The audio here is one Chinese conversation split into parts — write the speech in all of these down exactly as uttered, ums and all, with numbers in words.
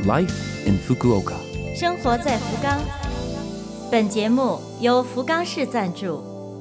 Life in Fukuoka， 生活在福冈。本节目由福冈市赞助。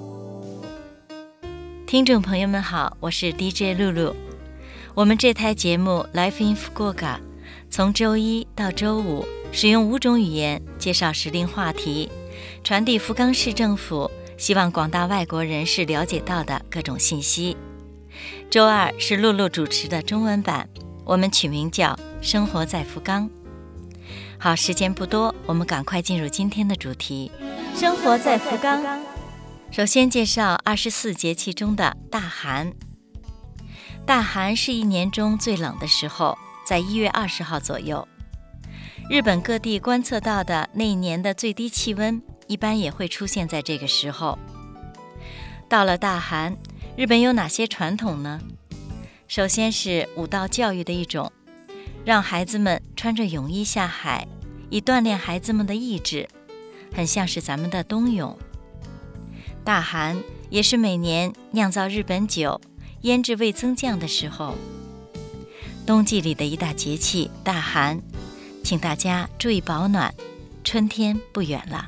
听众朋友们好，我是 D J 露露。我们这台节目 Life in Fukuoka 从周一到周五使用五种语言介绍时令话题，传递福冈市政府希望广大外国人士了解到的各种信息。周二是露露主持的中文版，我们取名叫生活在福冈。好，时间不多，我们赶快进入今天的主题，生活在福冈。首先介绍二十四节气中的大寒。大寒是一年中最冷的时候，在一月二十号左右。日本各地观测到的那一年的最低气温一般也会出现在这个时候。到了大寒，日本有哪些传统呢？首先是武道教育的一种，让孩子们穿着泳衣下海，以锻炼孩子们的意志，很像是咱们的冬泳。大寒也是每年酿造日本酒、腌制味增酱的时候。冬季里的一大节气大寒，请大家注意保暖，春天不远了。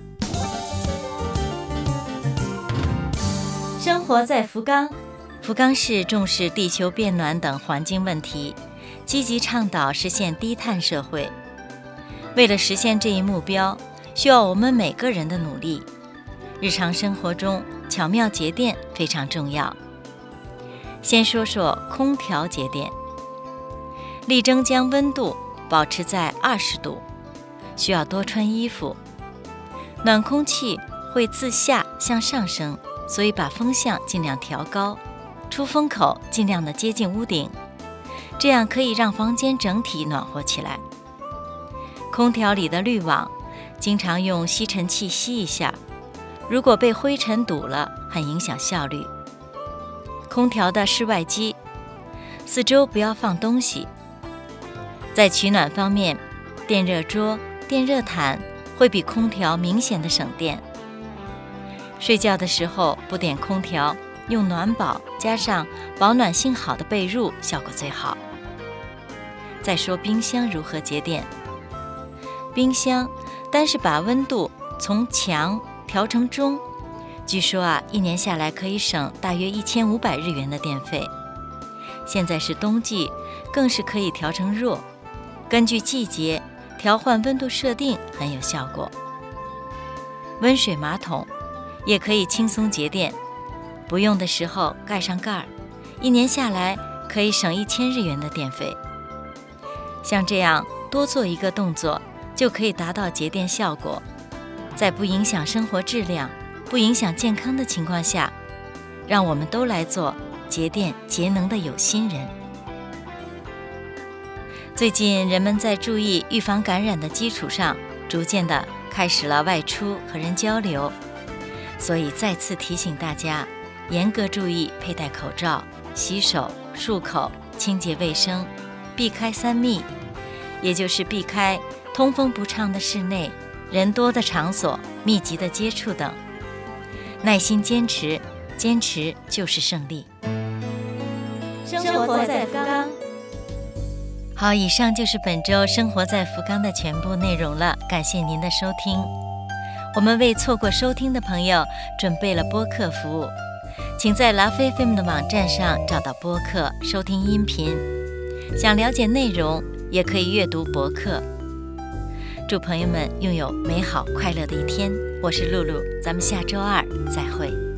生活在福冈。福冈市重视地球变暖等环境问题，积极倡导实现低碳社会。为了实现这一目标，需要我们每个人的努力。日常生活中巧妙节电非常重要。先说说空调节电，力争将温度保持在二十度，需要多穿衣服。暖空气会自下向上升，所以把风向尽量调高，出风口尽量的接近屋顶，这样可以让房间整体暖和起来。空调里的滤网经常用吸尘器吸一下，如果被灰尘堵了，很影响效率。空调的室外机四周不要放东西。在取暖方面，电热桌、电热毯会比空调明显的省电。睡觉的时候不点空调，用暖宝加上保暖性好的被褥效果最好。再说冰箱如何节电。冰箱单是把温度从强调成中，据说啊，一年下来可以省大约一千五百日元的电费。现在是冬季，更是可以调成弱，根据季节调换温度设定很有效果。温水马桶也可以轻松节电，不用的时候盖上盖儿，一年下来可以省一千日元的电费。像这样多做一个动作，就可以达到节电效果，在不影响生活质量、不影响健康的情况下，让我们都来做节电节能的有心人。最近人们在注意预防感染的基础上，逐渐的开始了外出和人交流，所以再次提醒大家，严格注意佩戴口罩、洗手、漱口、清洁卫生，避开三密，也就是避开通风不畅的室内、人多的场所、密集的接触等。耐心坚持，坚持就是胜利。生活在福冈。好，以上就是本周生活在福冈的全部内容了，感谢您的收听。我们为错过收听的朋友准备了播客服务，请在 Love F M 的网站上找到播客，收听音频。想了解内容，也可以阅读博客。祝朋友们拥有美好快乐的一天，我是露露，咱们下周二再会。